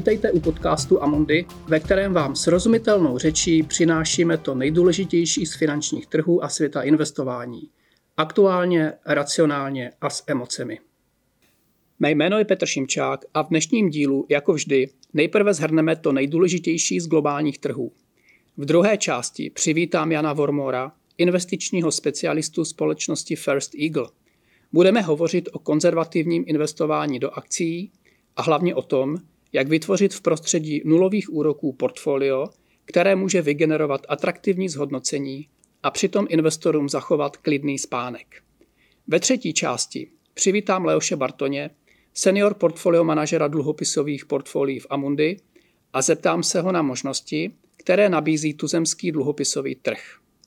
Vítejte u podcastu Amundi, ve kterém vám srozumitelnou řečí přinášíme to nejdůležitější z finančních trhů a světa investování. Aktuálně, racionálně a s emocemi. Mé jméno je Petr Šimčák a v dnešním dílu, jako vždy, nejprve shrneme to nejdůležitější z globálních trhů. V druhé části přivítám Jana Vormora, investičního specialistu společnosti First Eagle. Budeme hovořit o konzervativním investování do akcií a hlavně o tom, jak vytvořit v prostředí nulových úroků portfolio, které může vygenerovat atraktivní zhodnocení a přitom investorům zachovat klidný spánek. Ve třetí části přivítám Leoše Bartoně, senior portfolio manažera dluhopisových portfolií v Amundi, a zeptám se ho na možnosti, které nabízí tuzemský dluhopisový trh.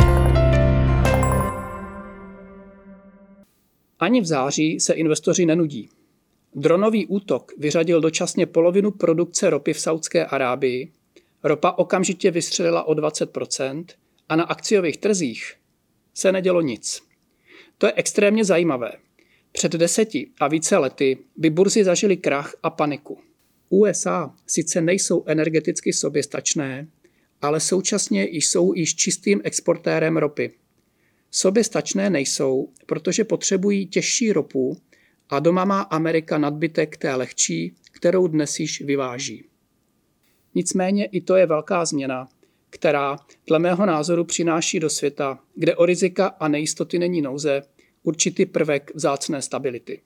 Ani v září se investoři nenudí. Dronový útok vyřadil dočasně polovinu produkce ropy v Saúdské Arábii, ropa okamžitě vystřelila o 20% a na akciových trzích se nedělo nic. To je extrémně zajímavé. Před 10 a více lety by burzy zažily krach a paniku. USA sice nejsou energeticky soběstačné, ale současně jsou již čistým exportérem ropy. Soběstačné nejsou, protože potřebují těžší ropu a doma má Amerika nadbytek té lehčí, kterou dnes již vyváží. Nicméně i to je velká změna, která dle mého názoru přináší do světa, kde o rizika a nejistoty není nouze, určitý prvek vzácné stability.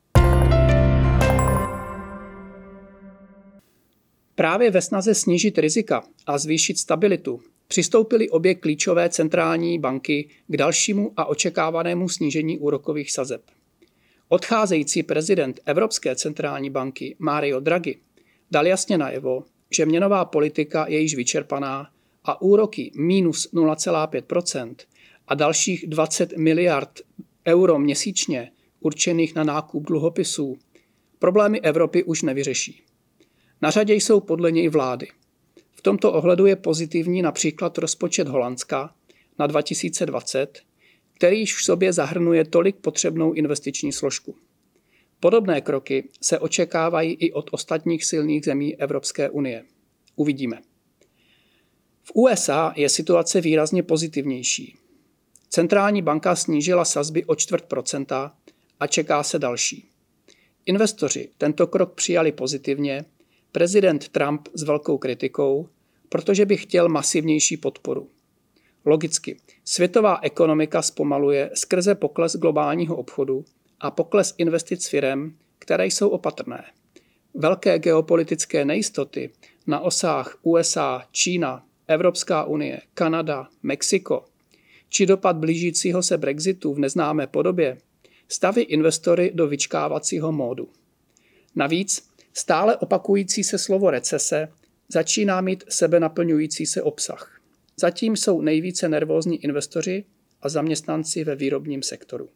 Právě ve snaze snížit rizika a zvýšit stabilitu přistoupily obě klíčové centrální banky k dalšímu a očekávanému snížení úrokových sazeb. Odcházející prezident Evropské centrální banky Mario Draghi dal jasně najevo, že měnová politika je již vyčerpaná a úroky minus 0,5% a dalších 20 miliard euro měsíčně určených na nákup dluhopisů problémy Evropy už nevyřeší. Na řadě jsou podle něj vlády. V tomto ohledu je pozitivní například rozpočet Holandska na 2020, který již v sobě zahrnuje tolik potřebnou investiční složku. Podobné kroky se očekávají i od ostatních silných zemí Evropské unie. Uvidíme. V USA je situace výrazně pozitivnější. Centrální banka snížila sazby o 0,25% a čeká se další. Investoři tento krok přijali pozitivně, prezident Trump s velkou kritikou, protože by chtěl masivnější podporu. Logicky, světová ekonomika zpomaluje skrze pokles globálního obchodu a pokles investic firem, které jsou opatrné. Velké geopolitické nejistoty na osách USA, Čína, Evropská unie, Kanada, Mexiko či dopad blížícího se Brexitu v neznámé podobě staví investory do vyčkávacího módu. Navíc stále opakující se slovo recese začíná mít sebenaplňující se obsah. Zatím jsou nejvíce nervózní investoři a zaměstnanci ve výrobním sektoru.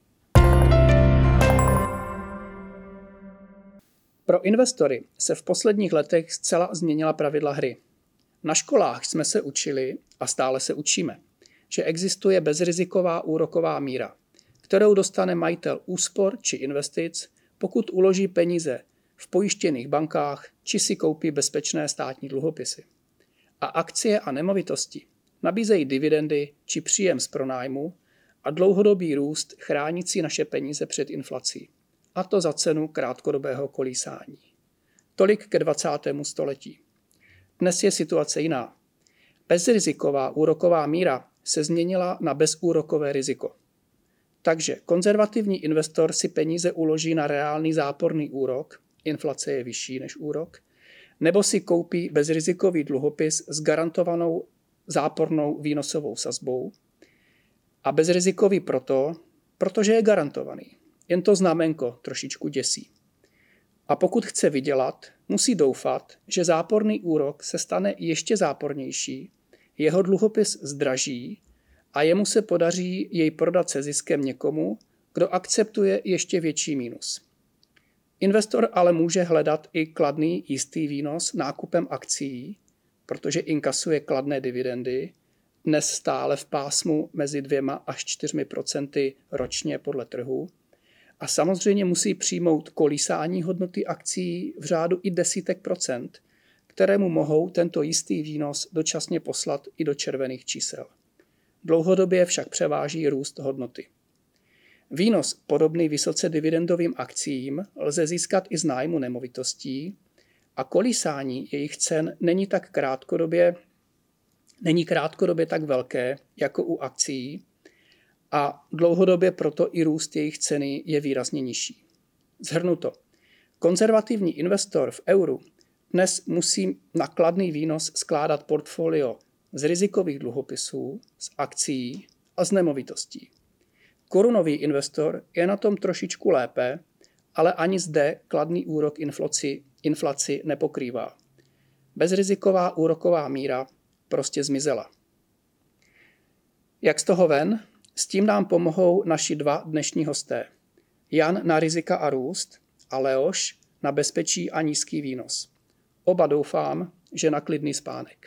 Pro investory se v posledních letech zcela změnila pravidla hry. Na školách jsme se učili a stále se učíme, že existuje bezriziková úroková míra, kterou dostane majitel úspor či investic, pokud uloží peníze v pojištěných bankách či si koupí bezpečné státní dluhopisy. A akcie a nemovitosti nabízejí dividendy či příjem z pronájmu a dlouhodobý růst chránící naše peníze před inflací. A to za cenu krátkodobého kolísání. Tolik ke 20. století. Dnes je situace jiná. Bezriziková úroková míra se změnila na bezúrokové riziko. Takže konzervativní investor si peníze uloží na reálný záporný úrok, inflace je vyšší než úrok, nebo si koupí bezrizikový dluhopis s garantovanou zápornou výnosovou sazbou a bezrizikový protože je garantovaný. Jen to znamenko trošičku děsí. A pokud chce vydělat, musí doufat, že záporný úrok se stane ještě zápornější, jeho dluhopis zdraží a jemu se podaří jej prodat se ziskem někomu, kdo akceptuje ještě větší mínus. Investor ale může hledat i kladný jistý výnos nákupem akcií, protože inkasuje kladné dividendy, dnes stále v pásmu mezi 2 až 4% ročně podle trhu, a samozřejmě musí přijmout kolísání hodnoty akcií v řádu i desítek procent, kterému mohou tento jistý výnos dočasně poslat i do červených čísel. Dlouhodobě však převáží růst hodnoty. Výnos podobný vysoce dividendovým akciím lze získat i z nájmu nemovitostí a kolísání jejich cen není krátkodobě tak velké jako u akcií a dlouhodobě proto i růst jejich ceny je výrazně nižší. Shrnuto. Konzervativní investor v euru dnes musí na kladný výnos skládat portfolio z rizikových dluhopisů, z akcií a z nemovitostí. Korunový investor je na tom trošičku lépe, ale ani zde kladný úrok inflaci nepokrývá. Bezriziková úroková míra prostě zmizela. Jak z toho ven? S tím nám pomohou naši dva dnešní hosté. Jan na rizika a růst a Leoš na bezpečí a nízký výnos. Oba doufám, že na klidný spánek.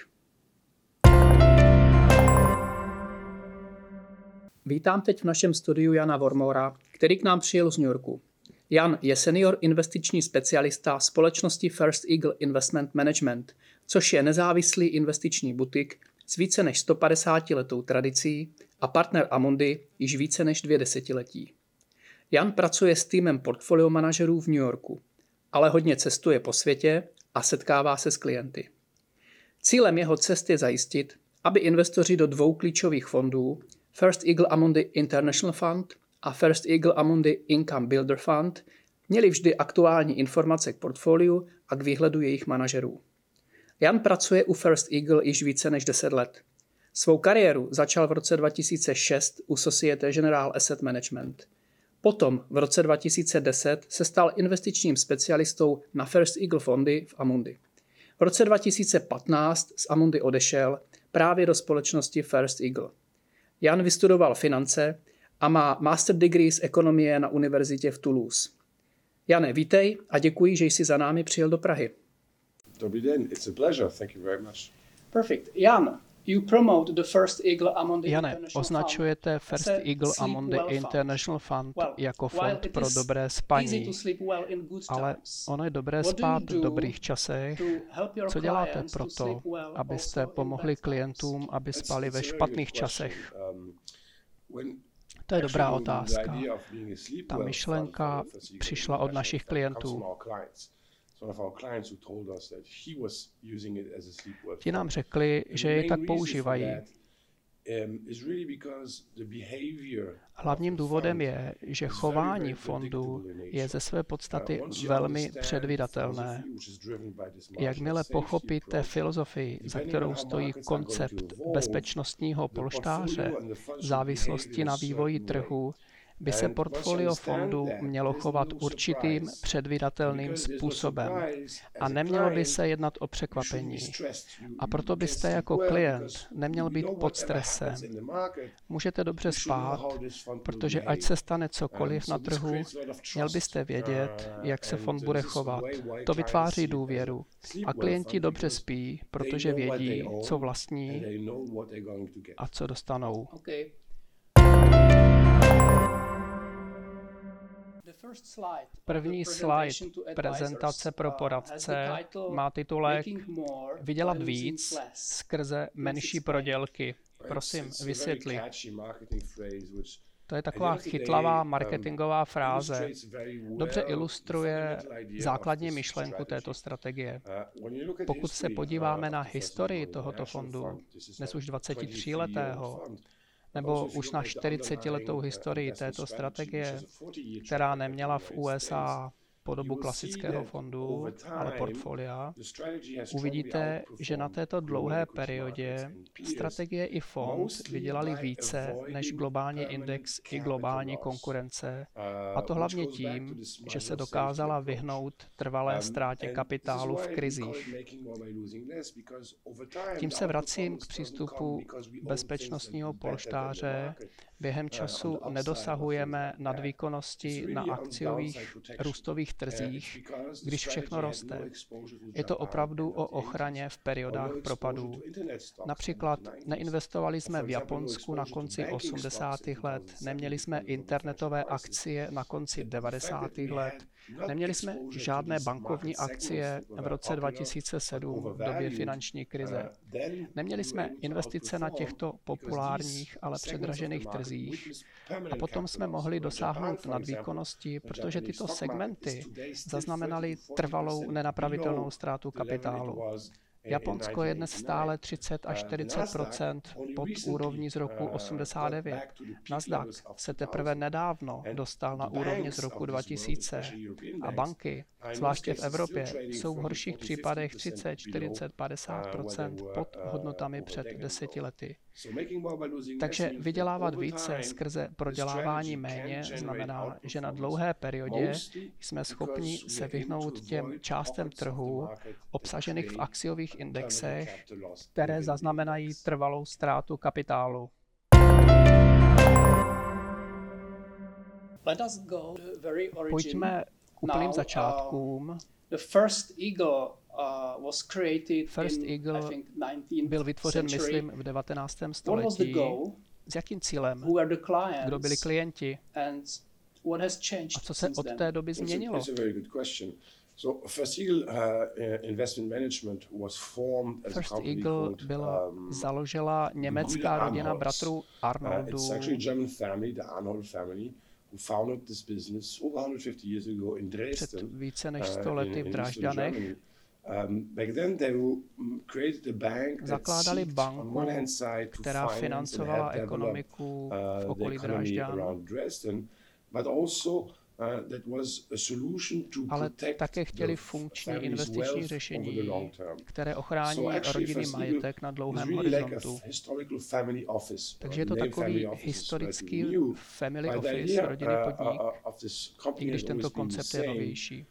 Vítám teď v našem studiu Jana Vormora, který k nám přijel z New Yorku. Jan je senior investiční specialista společnosti First Eagle Investment Management, což je nezávislý investiční butik s více než 150 letou tradicí a partner Amundi již více než 2 desetiletí. Jan pracuje s týmem portfolio manažerů v New Yorku, ale hodně cestuje po světě a setkává se s klienty. Cílem jeho cest je zajistit, aby investoři do 2 klíčových fondů, First Eagle Amundi International Fund a First Eagle Amundi Income Builder Fund, měli vždy aktuální informace k portfoliu a k výhledu jejich manažerů. Jan pracuje u First Eagle již více než 10 let. Svou kariéru začal v roce 2006 u Societe Generale Asset Management. Potom v roce 2010 se stal investičním specialistou na First Eagle fondy v Amundi. V roce 2015 z Amundi odešel právě do společnosti First Eagle. Jan vystudoval finance a má master degree z ekonomie na univerzitě v Toulouse. Jane, vítej a děkuji, že jsi za námi přijel do Prahy. Dobrý den, it's a pleasure. Thank you very much. Perfect. Jan, you promote the First Eagle Amundi Jane, International označujete First Eagle Amundi International Fund jako fond pro dobré spaní, ale ono je dobré spát v dobrých časech. Co děláte pro to, abyste pomohli klientům, aby spali ve špatných časech? To je dobrá otázka. Ta myšlenka přišla od našich klientů. Ti nám řekli, že jej tak používají. Hlavním důvodem je, že chování fondu je ze své podstaty velmi předvídatelné. Jakmile pochopíte filozofii, za kterou stojí koncept bezpečnostního polštáře, závislosti na vývoji trhu, by se portfolio fondu mělo chovat určitým předvídatelným způsobem a nemělo by se jednat o překvapení. A proto byste jako klient neměl být pod stresem. Můžete dobře spát, protože ať se stane cokoliv na trhu, měl byste vědět, jak se fond bude chovat. To vytváří důvěru. A klienti dobře spí, protože vědí, co vlastní a co dostanou. První slide prezentace pro poradce má titulek Vydělat víc skrze menší prodělky. Prosím, vysvětli. To je taková chytlavá marketingová fráze. Dobře ilustruje základní myšlenku této strategie. Pokud se podíváme na historii tohoto fondu, dnes už 23letého, nebo už na 40letou historii této strategie, která neměla v USA podobu klasického fondu, ale portfolia, uvidíte, že na této dlouhé periodě strategie i fond vydělali více než globální index i globální konkurence, a to hlavně tím, že se dokázala vyhnout trvalé ztrátě kapitálu v krizích. Tím se vracím k přístupu bezpečnostního polštáře. Během času nedosahujeme nadvýkonnosti na akciových růstových trzích, když všechno roste. Je to opravdu o ochraně v periodách propadů. Například neinvestovali jsme v Japonsku na konci 80. let, neměli jsme internetové akcie na konci 90. let, neměli jsme žádné bankovní akcie v roce 2007 v době finanční krize. Neměli jsme investice na těchto populárních, ale předražených trzích a potom jsme mohli dosáhnout nadvýkonnosti, protože tyto segmenty zaznamenaly trvalou nenapravitelnou ztrátu kapitálu. Japonsko je dnes stále 30 až 40% pod úrovní z roku 89. Nasdaq se teprve nedávno dostal na úrovně z roku 2000 a banky, zvláště v Evropě, jsou v horších případech 30, 40, 50% pod hodnotami před 10 lety. Takže vydělávat více skrze prodělávání méně znamená, že na dlouhé periodě jsme schopni se vyhnout těm částem trhu obsažených v akciových indexech, které zaznamenají trvalou ztrátu kapitálu. Pojďme k úplným začátkům. First Eagle byl vytvořen, myslím, v 19. století. S jakým cílem? Kdo byli klienti? A co se od té doby změnilo? First Eagle byla založila německá rodina bratrů Arnoldů. Před více než 100 lety v Drážďanech. Zakládali banku, která financovala ekonomiku v okolí Drážďan, ale také chtěli funkční investiční řešení, které ochrání rodinný majetek na dlouhém horizontu. Takže je to takový historický family office, rodinný podnik, i když tento koncept je novější.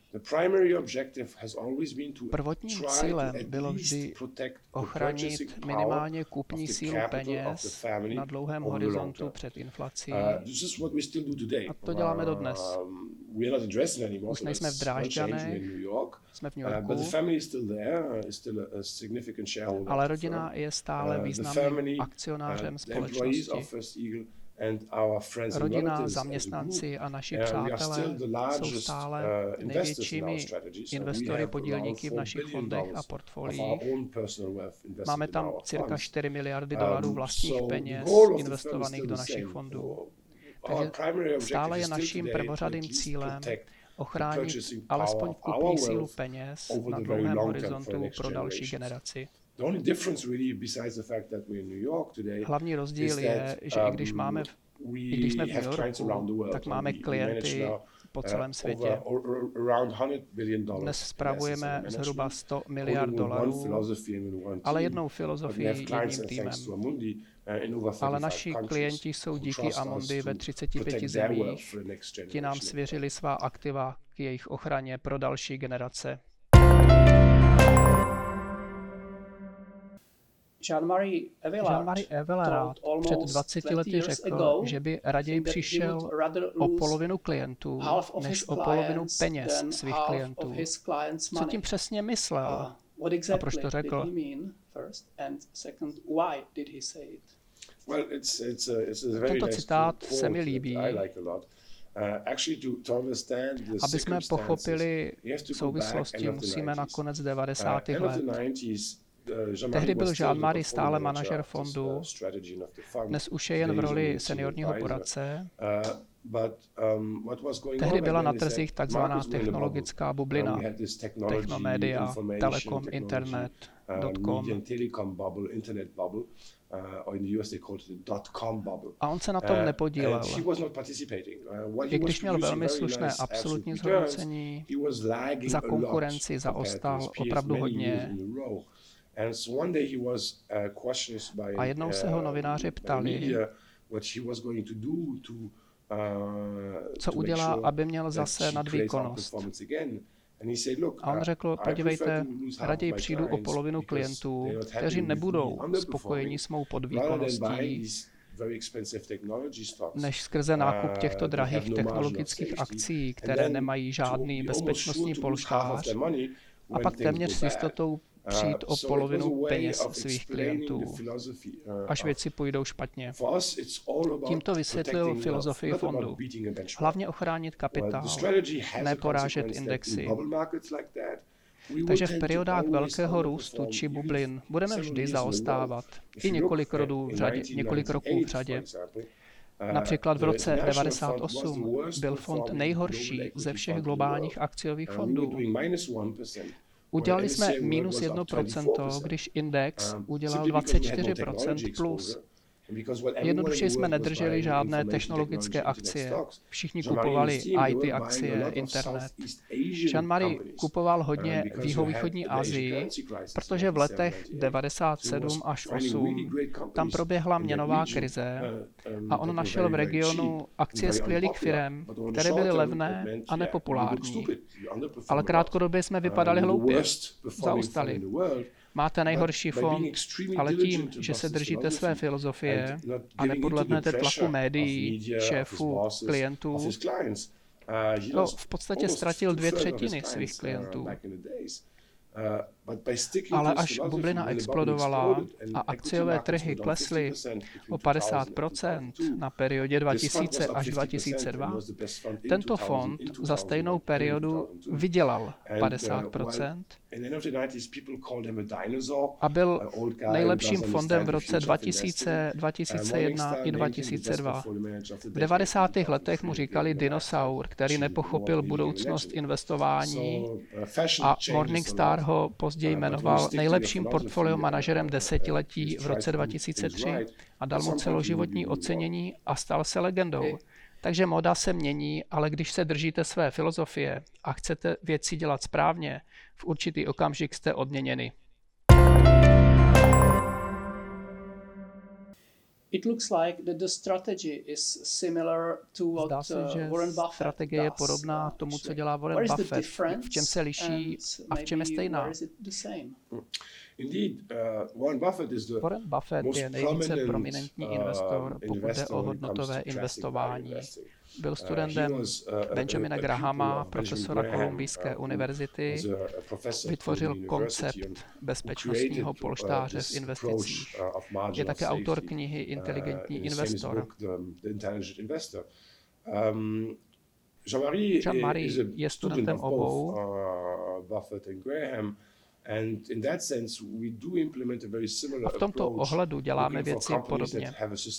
Prvotním cílem bylo vždy ochránit minimálně kupní sílu peněz na dlouhém horizontu před inflací. A to děláme dodnes. Už nejsme v Drážďanech, jsme v New Yorku, ale rodina je stále významným akcionářem společnosti. Rodina, zaměstnanci a naši přátelé jsou stále největšími investory, podílníky v našich fondech a portfoliích. Máme tam cirka 4 miliardy dolarů vlastních peněz investovaných do našich fondů. Takže stále je naším prvořadým cílem ochránit alespoň kupní sílu peněz na dlouhém horizontu pro další generaci. Hlavní rozdíl je, že i když jsme v New Yorku, tak máme klienty po celém světě. Dnes spravujeme zhruba 100 miliard dolarů, ale jednou filozofií, jedním týmem. Ale naši klienti jsou díky Amundi ve 35 zemích. Ti nám svěřili svá aktiva k jejich ochraně pro další generace. Jean-Marie Evelard před 20 lety řekl, že by raději přišel o polovinu klientů, než o polovinu peněz svých klientů. Co tím přesně myslel? A proč to řekl? Tento citát se mi líbí. Aby jsme pochopili souvislosti, musíme na konec 90. let. Tehdy byl Jean-Marie stále manažer fondu, dnes už je jen v roli seniorního poradce. Tehdy byla na trzích takzvaná technologická bublina, technomédia, telekom, internet, .com. A on se na tom nepodílel. I když měl velmi slušné absolutní zhodnocení, za konkurenci zaostal opravdu hodně. A jednou se ho novináři ptali, co udělá, aby měl zase nadvýkonnost. A on řekl, podívejte, raději přijdu o polovinu klientů, kteří nebudou spokojeni s mou podvýkonností, než skrze nákup těchto drahých technologických akcí, které nemají žádný bezpečnostní polštář, a pak téměř s jistotou přijít o polovinu peněz svých klientů, až věci půjdou špatně. Tímto vysvětlil filozofii fondu. Hlavně ochránit kapitál, ne porážet indexy. Takže v periodách velkého růstu či bublin budeme vždy zaostávat. I několik roků v řadě. Například v roce 1998 byl fond nejhorší ze všech globálních akciových fondů. Udělali jsme minus 1%, když index udělal 24% plus. Jednoduše jsme nedrželi žádné technologické akcie. Všichni kupovali IT akcie, internet. Jean-Marie kupoval hodně v jihovýchodní Asii, protože v letech 97 až 8 tam proběhla měnová krize a on našel v regionu akcie skvělých firem, které byly levné a nepopulární. Ale krátkodobě jsme vypadali hloupě, zaostali. Máte nejhorší fond, ale tím, že se držíte své filozofie a nepodlehnete tlaku médií, šéfů, klientů, v podstatě ztratil 2/3 svých klientů. Ale až bublina explodovala a akciové trhy klesly o 50% na periodě 2000 až 2002, tento fond za stejnou periodu vydělal 50% a byl nejlepším fondem v roce 2000, 2001 i 2002. V 90. letech mu říkali dinosaur, který nepochopil budoucnost investování, a Morningstar ho později jmenoval nejlepším portfolio manažerem desetiletí v roce 2003 a dal mu celoživotní ocenění a stal se legendou. Takže móda se mění, ale když se držíte své filozofie a chcete věci dělat správně, v určitý okamžik jste odměněni. Zdá se, že strategie je podobná tomu, co dělá Warren Buffett. V čem se liší a v čem je stejná? Warren Buffett je nejvíce prominentní investor, pokud jde o hodnotové investování. Byl studentem Benjamina Grahama, profesora Kolumbijské univerzity, vytvořil koncept bezpečnostního polštáře v investicích. Je také autor knihy Inteligentní investor. Jean-Marie je studentem obou. A v tomto ohledu děláme věci podobně.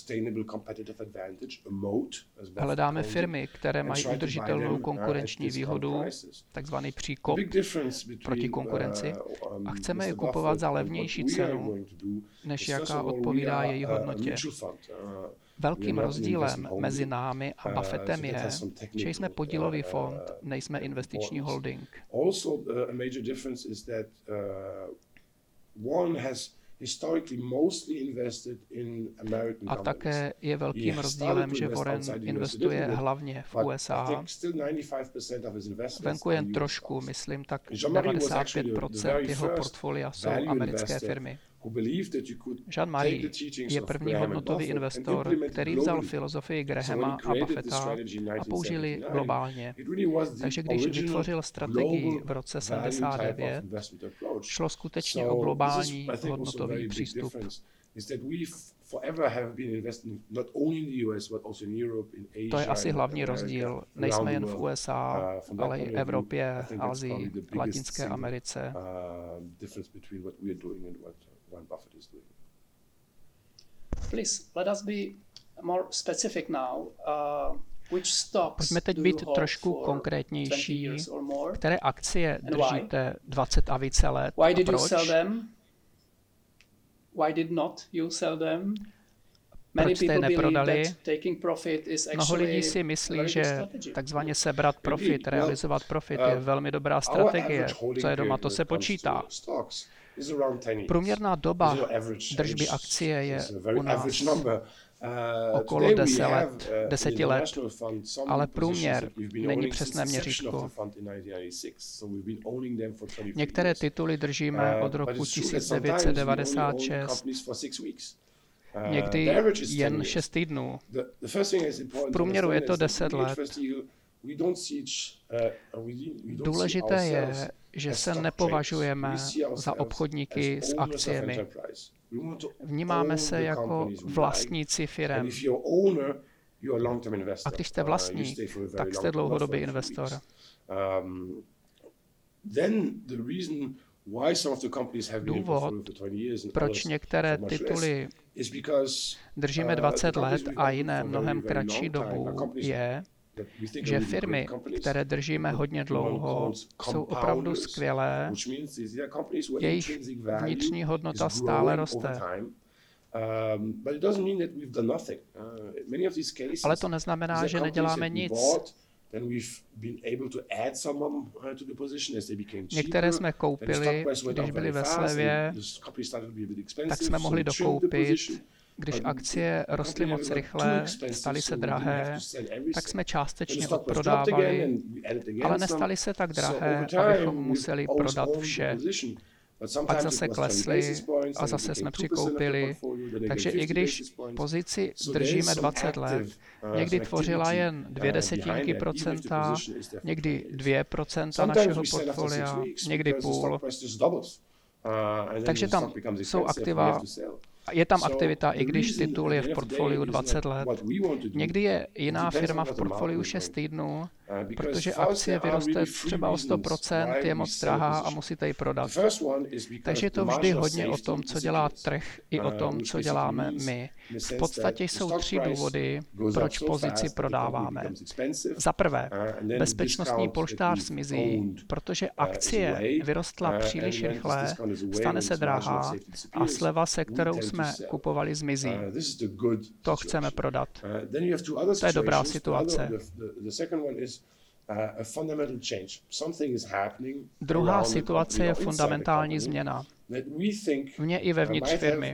Hledáme firmy, které mají udržitelnou konkurenční výhodu, takzvaný příkop proti konkurenci, a chceme je kupovat za levnější cenu, než jaká odpovídá její hodnotě. Velkým rozdílem mezi námi a Buffettem je, že jsme podílový fond, nejsme investiční holding. A také je velkým rozdílem, že Warren investuje hlavně v USA. Venku jen trošku, myslím, tak 95% jeho portfolia jsou americké firmy. Jean-Marie je první hodnotový investor, který vzal filozofii Grahama a Buffetta a použil ji globálně. Takže když vytvořil strategii v roce 79, šlo skutečně o globální hodnotový přístup. To je asi hlavní rozdíl. Nejsme jen v USA, ale i Evropě, Asii, Latinské Americe. Pojďme teď být trošku konkrétnější. Které akcie držíte 20 a více let a proč? Proč jste je neprodali? Mnoho lidí si myslí, že takzvaně sebrat profit, realizovat profit je velmi dobrá strategie. Co je doma, to se počítá. Průměrná doba držby akcie je u nás okolo 10 let, ale průměr není přesné měřítko. Některé tituly držíme od roku 1996. někdy jen 6 týdnů. V průměru je to 10 let. Důležité je, že se nepovažujeme za obchodníky s akciemi. Vnímáme se jako vlastníci firem. A když jste vlastník, tak jste dlouhodobý investor. Důvod, proč některé tituly držíme 20 let a jiné mnohem kratší dobu, je, že firmy, které držíme hodně dlouho, jsou opravdu skvělé, jejich vnitřní hodnota stále roste. Ale to neznamená, že neděláme nic. Některé jsme koupili, když byly ve slevě, tak jsme mohli dokoupit. Když akcie rostly moc rychle, staly se drahé, tak jsme částečně odprodávali, ale nestaly se tak drahé, abychom museli prodat vše. Pak zase klesly a zase jsme přikoupili. Takže i když pozici držíme 20 let, někdy tvořila jen 0,2%, někdy 2% našeho portfolia, někdy půl. Takže tam jsou aktiva. Je tam aktivita, i když titul je v portfoliu 20 let. Někdy je jiná firma v portfoliu 6 týdnů, protože akcie vyroste třeba o 100%, je moc drahá a musíte ji prodat. Takže je to vždy hodně o tom, co dělá trh, i o tom, co děláme my. V podstatě jsou 3 důvody, proč pozici prodáváme. Za prvé, bezpečnostní polštář zmizí, protože akcie vyrostla příliš rychle, stane se drahá a sleva, se kterou jsme kupovali, zmizí. To chceme prodat. To je dobrá situace. Druhá situace je fundamentální změna. Vně i vevnitř firmy.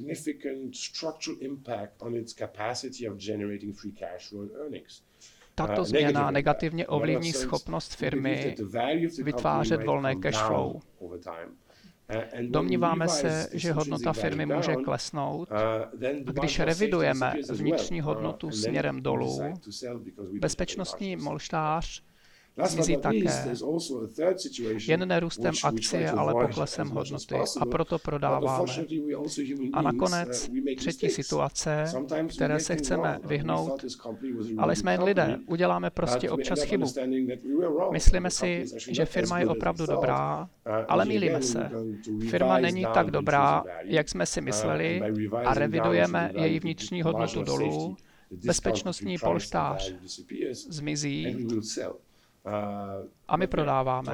Tato změna negativně ovlivní schopnost firmy vytvářet volné cash flow. Domníváme se, že hodnota firmy může klesnout, a když revidujeme vnitřní hodnotu směrem dolů, bezpečnostní polštář zmizí také. Jen nerůstem akcie, ale poklesem hodnoty. A proto prodáváme. A nakonec třetí situace, které se chceme vyhnout, ale jsme jen lidé. Uděláme prostě občas chybu. Myslíme si, že firma je opravdu dobrá, ale mýlíme se. Firma není tak dobrá, jak jsme si mysleli, a revidujeme její vnitřní hodnotu dolů. Bezpečnostní polštář zmizí. A my prodáváme.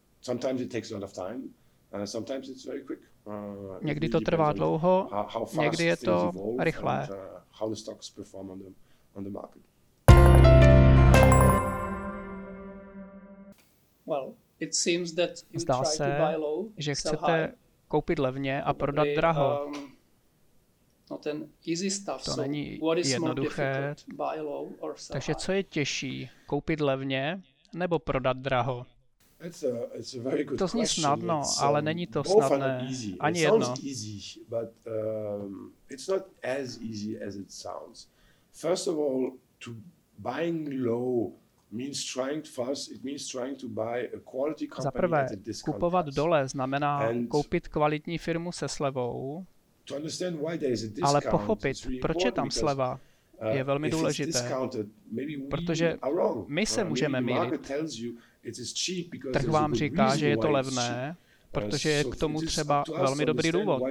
Někdy to trvá dlouho, někdy je to rychlé. Zdá se, že chcete koupit levně a prodat draho. To není jednoduché. Takže co je těžší? Koupit levně nebo prodat draho? To zní snadno, ale není to snadné. Ani jedno. Za prvé, kupovat dole znamená koupit kvalitní firmu se slevou, ale pochopit, proč je tam sleva, je velmi důležité, protože my se můžeme mýlit. Trh vám říká, že je to levné, protože je k tomu třeba velmi dobrý důvod.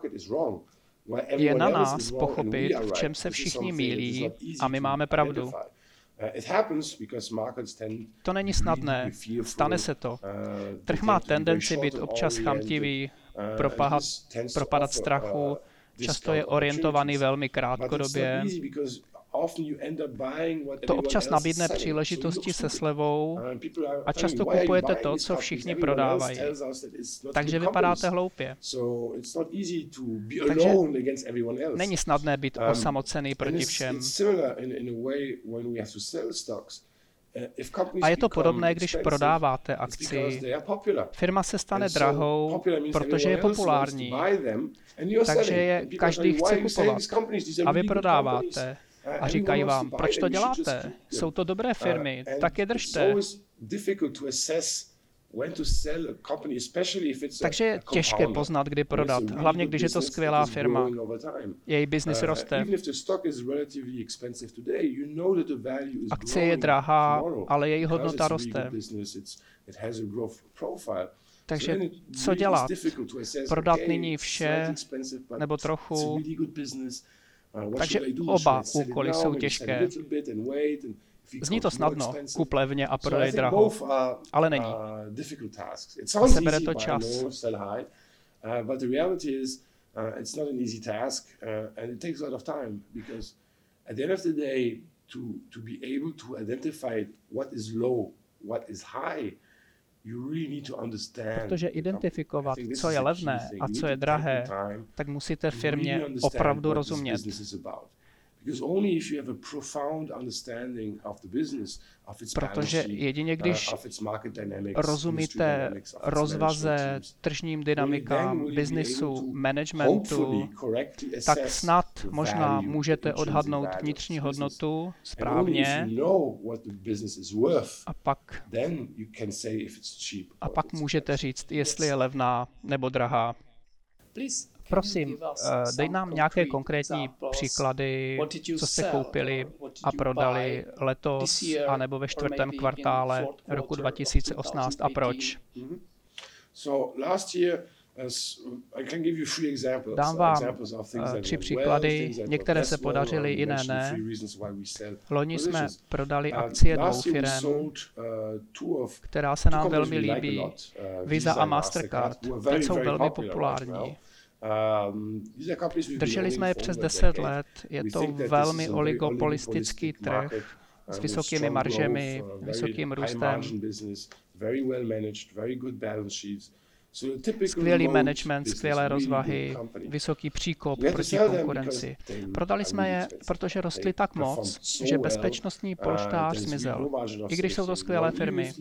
Je na nás pochopit, v čem se všichni mýlí, a my máme pravdu. To není snadné, stane se to. Trh má tendenci být občas chamtivý, propadat strachu, často je orientovaný velmi krátkodobě. To občas nabídne příležitosti se slevou a často kupujete to, co všichni prodávají. Takže vypadáte hloupě. Takže není snadné být osamocený proti všem. A je to podobné, když prodáváte akci. Firma se stane drahou, protože je populární. Takže je každý chce kupovat. A vy prodáváte. A říkají vám, proč to děláte? Jsou to dobré firmy, tak je držte. Takže je těžké poznat, kdy prodat, hlavně když je to skvělá firma. Její biznis roste. Akcie je drahá, ale její hodnota roste. Takže co dělat? Prodat nyní vše nebo trochu? Takže oba úkoly jsou těžké. Zní to snadno, kup levně a prodej draho, ale není. Sebere to čas. Protože identifikovat, co je levné a co je drahé, tak musíte firmě opravdu rozumět. Protože jedině když rozumíte rozvaze, tržním dynamikám, biznisu, managementu, tak snad možná můžete odhadnout vnitřní hodnotu správně a pak můžete říct, jestli je levná nebo drahá. Prosím, dej nám nějaké konkrétní příklady, co jste koupili a prodali letos anebo ve čtvrtém kvartále roku 2018 a proč. Dám vám 3 příklady, některé se podařily, jiné ne. Loni jsme prodali akcie 2 firem, která se nám velmi líbí, Visa a Mastercard. Teď jsou velmi populární. Drželi jsme je přes 10 let, je to velmi oligopolistický trh s vysokými maržemi, vysokým růstem, skvělý management, skvělé rozvahy, vysoký příkop proti konkurenci. Prodali jsme je, protože rostly tak moc, že bezpečnostní polštář zmizel, i když jsou to skvělé firmy.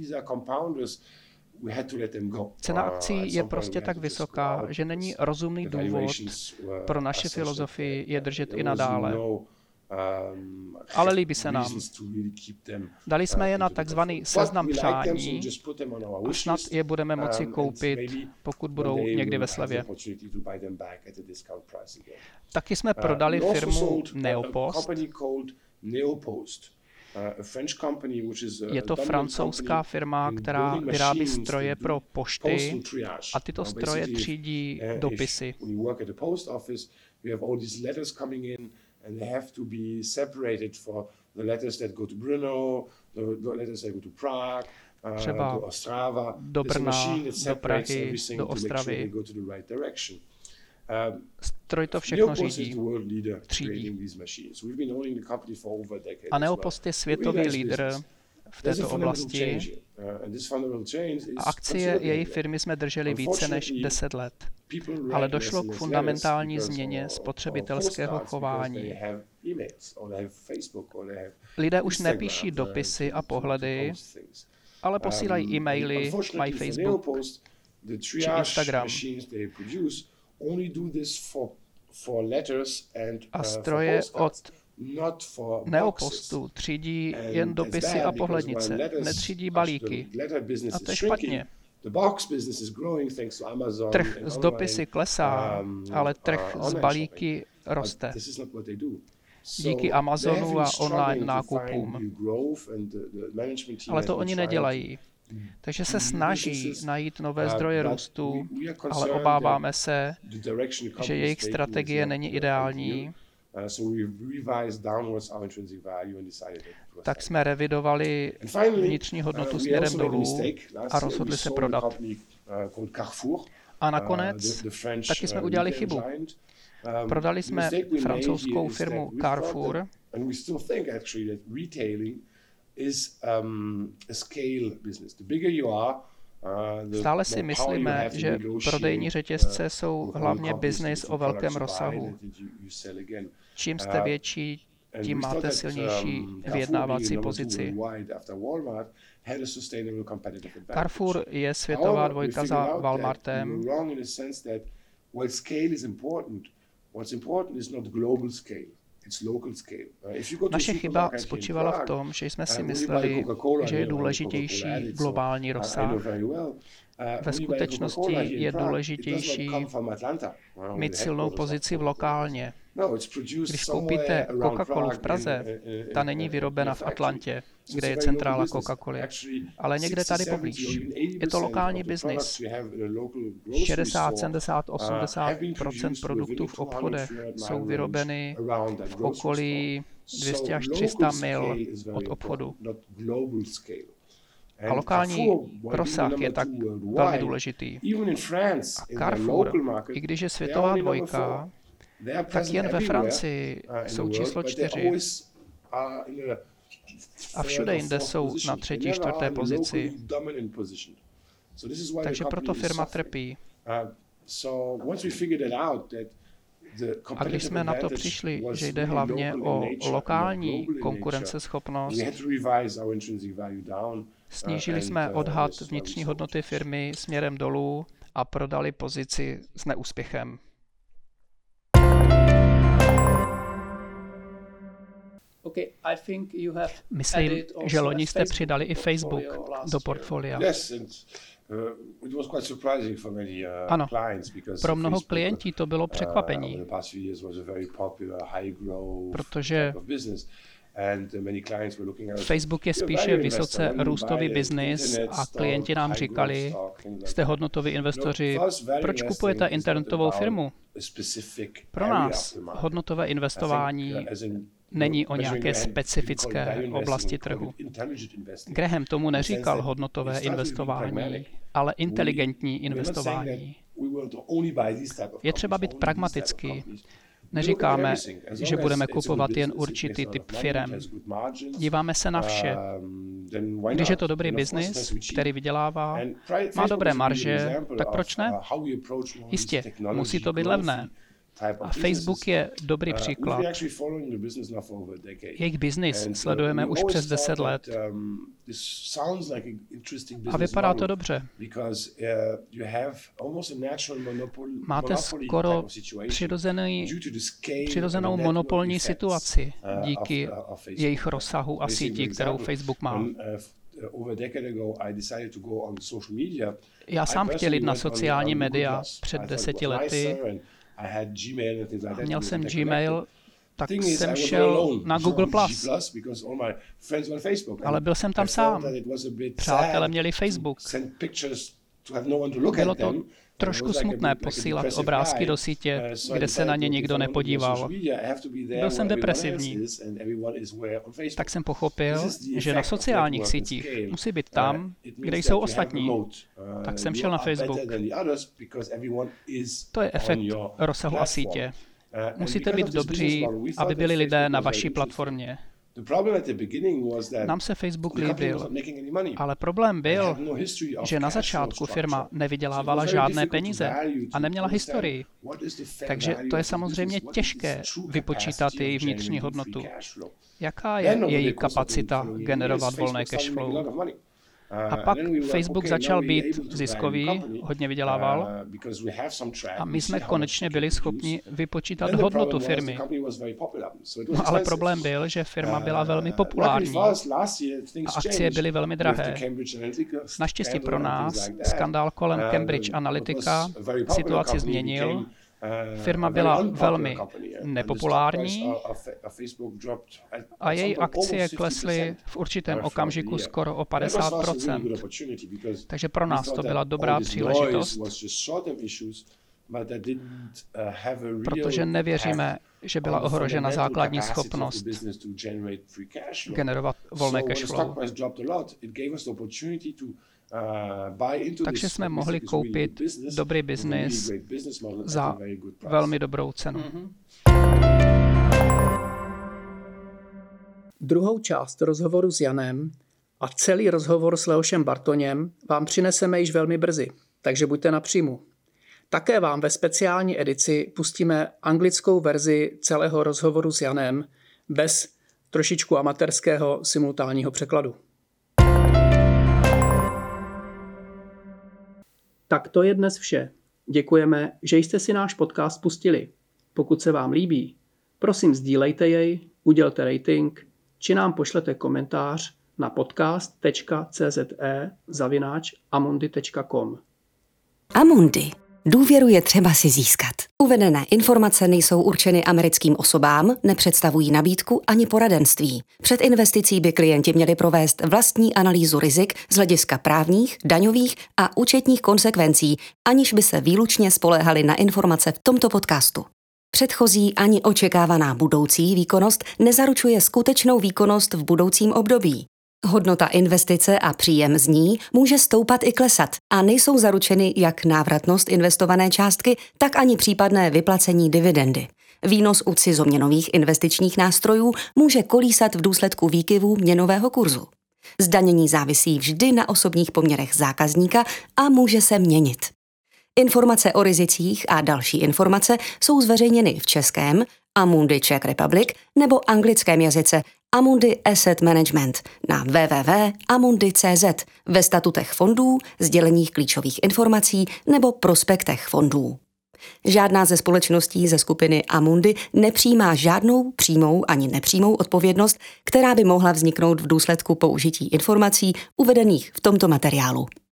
Cena akcí je prostě tak vysoká, že není rozumný důvod pro naši filozofii je držet i nadále. Ale líbí se nám. Dali jsme je na takzvaný seznam přání a snad je budeme moci koupit, pokud budou někdy ve slevě. Taky jsme prodali firmu Neopost. Je to francouzská firma, která vyrábí stroje pro pošty a tyto stroje třídí dopisy. And they have to be separated for the letters that go to Brno, the letters that go to Prague, třeba to Ostrava. Do Brna, do Prahy, do Ostravy. Stroj to všechno řídí, třídí. A Neopost je světový lídr v této oblasti a akcie její firmy jsme drželi více než 10 let. Ale došlo k fundamentální změně spotřebitelského chování. Lidé už nepíší dopisy a pohledy, ale posílají e-maily, mají Facebook či Instagram. A stroje od Neopostu třídí jen dopisy a pohlednice, netřídí balíky. A to je špatně. Trh s dopisy klesá, ale trh s balíky roste. Díky Amazonu a online nákupům. Ale to oni nedělají. Takže se snaží najít nové zdroje růstu, ale obáváme se, že jejich strategie není ideální. Tak jsme revidovali vnitřní hodnotu směrem dolů a rozhodli se prodat. A nakonec taky jsme udělali chybu. Prodali jsme francouzskou firmu Carrefour, stále si myslíme, že prodejní řetězce jsou hlavně biznis o velkém rozsahu. Čím jste větší, tím máte silnější vyjednávací pozici. Carrefour je světová dvojka za Walmartem. Naše chyba spočívala v tom, že jsme si mysleli, že je důležitější globální rozsah. Ve skutečnosti je důležitější mít silnou pozici v lokálně. Když koupíte Coca-Colu v Praze, ta není vyrobena v Atlantě, kde je centrála Coca-Coly, ale někde tady poblíž. Je to lokální biznis. 60, 70, 80% produktů v obchodech jsou vyrobeny v okolí 200 až 300 mil od obchodu. A lokální rozsah je tak velmi důležitý. A Carrefour, i když je světová dvojka, tak jen ve Francii jsou číslo 4 a všude jinde jsou na 3., 4. pozici. Takže proto firma trpí. A když jsme na to přišli, že jde hlavně o lokální konkurenceschopnost, snížili jsme odhad vnitřní hodnoty firmy směrem dolů a prodali pozici s neúspěchem. Myslím, že loni jste přidali i Facebook do portfolia. Ano, pro mnoho klientů to bylo překvapení, protože Facebook je spíše vysoce růstový biznis a klienti nám říkali, jste hodnotoví investoři, proč kupujete internetovou firmu? Pro nás hodnotové investování není o nějaké specifické oblasti trhu. Graham tomu neříkal hodnotové investování, ale inteligentní investování. Je třeba být pragmatický. Neříkáme, že budeme kupovat jen určitý typ firem. Díváme se na vše. Když je to dobrý biznis, který vydělává, má dobré marže, tak proč ne? Jistě, musí to být levné. A Facebook je dobrý příklad. Jejich biznis sledujeme už přes 10 let. A vypadá to dobře. Máte skoro přirozenou monopolní situaci díky jejich rozsahu a síti, kterou Facebook má. Já sám chtěl jít na sociální média před 10 lety. Měl jsem Gmail, tak jsem šel na Google+, ale byl jsem tam sám. Přátelé měli Facebook. Bylo to trošku smutné posílat obrázky do sítě, kde se na ně nikdo nepodíval. Byl jsem depresivní. Tak jsem pochopil, že na sociálních sítích musí být tam, kde jsou ostatní. Tak jsem šel na Facebook. To je efekt rozsahu a sítě. Musíte být dobří, aby byli lidé na vaší platformě. Nám se Facebook líbil, ale problém byl, že na začátku firma nevydělávala žádné peníze a neměla historii. Takže to je samozřejmě těžké vypočítat její vnitřní hodnotu. Jaká je její kapacita generovat volné cash flow? A pak Facebook začal být ziskový, hodně vydělával a my jsme konečně byli schopni vypočítat hodnotu firmy. No, ale problém byl, že firma byla velmi populární a akcie byly velmi drahé. Naštěstí pro nás skandál kolem Cambridge Analytica situaci změnil. Firma byla velmi nepopulární a její akcie klesly v určitém okamžiku skoro o 50%. Takže pro nás to byla dobrá příležitost, protože nevěříme, že byla ohrožena základní schopnost generovat volné cash flow. Takže jsme mohli koupit dobrý biznis za velmi dobrou cenu. Druhou část rozhovoru s Janem a celý rozhovor s Leošem Bartoněm vám přineseme již velmi brzy, takže buďte napříjmu. Také vám ve speciální edici pustíme anglickou verzi celého rozhovoru s Janem, bez trošičku amatérského simultánního překladu. Tak to je dnes vše. Děkujeme, že jste si náš podcast pustili. Pokud se vám líbí, prosím sdílejte jej, udělte rating, či nám pošlete komentář na podcast.cze@amundi.com. Amundi. Důvěru je třeba si získat. Uvedené informace nejsou určeny americkým osobám, nepředstavují nabídku ani poradenství. Před investicí by klienti měli provést vlastní analýzu rizik z hlediska právních, daňových a účetních konsekvencí, aniž by se výlučně spoléhali na informace v tomto podcastu. Předchozí ani očekávaná budoucí výkonnost nezaručuje skutečnou výkonnost v budoucím období. Hodnota investice a příjem z ní může stoupat i klesat a nejsou zaručeny jak návratnost investované částky, tak ani případné vyplacení dividendy. Výnos u cizoměnových investičních nástrojů může kolísat v důsledku výkyvů měnového kurzu. Zdanění závisí vždy na osobních poměrech zákazníka a může se měnit. Informace o rizicích a další informace jsou zveřejněny v českém Amundi Czech Republic nebo anglickém jazyce Amundi Asset Management na www.amundi.cz, ve statutech fondů, sděleních klíčových informací nebo prospektech fondů. Žádná ze společností ze skupiny Amundi nepřijímá žádnou přímou ani nepřímou odpovědnost, která by mohla vzniknout v důsledku použití informací uvedených v tomto materiálu.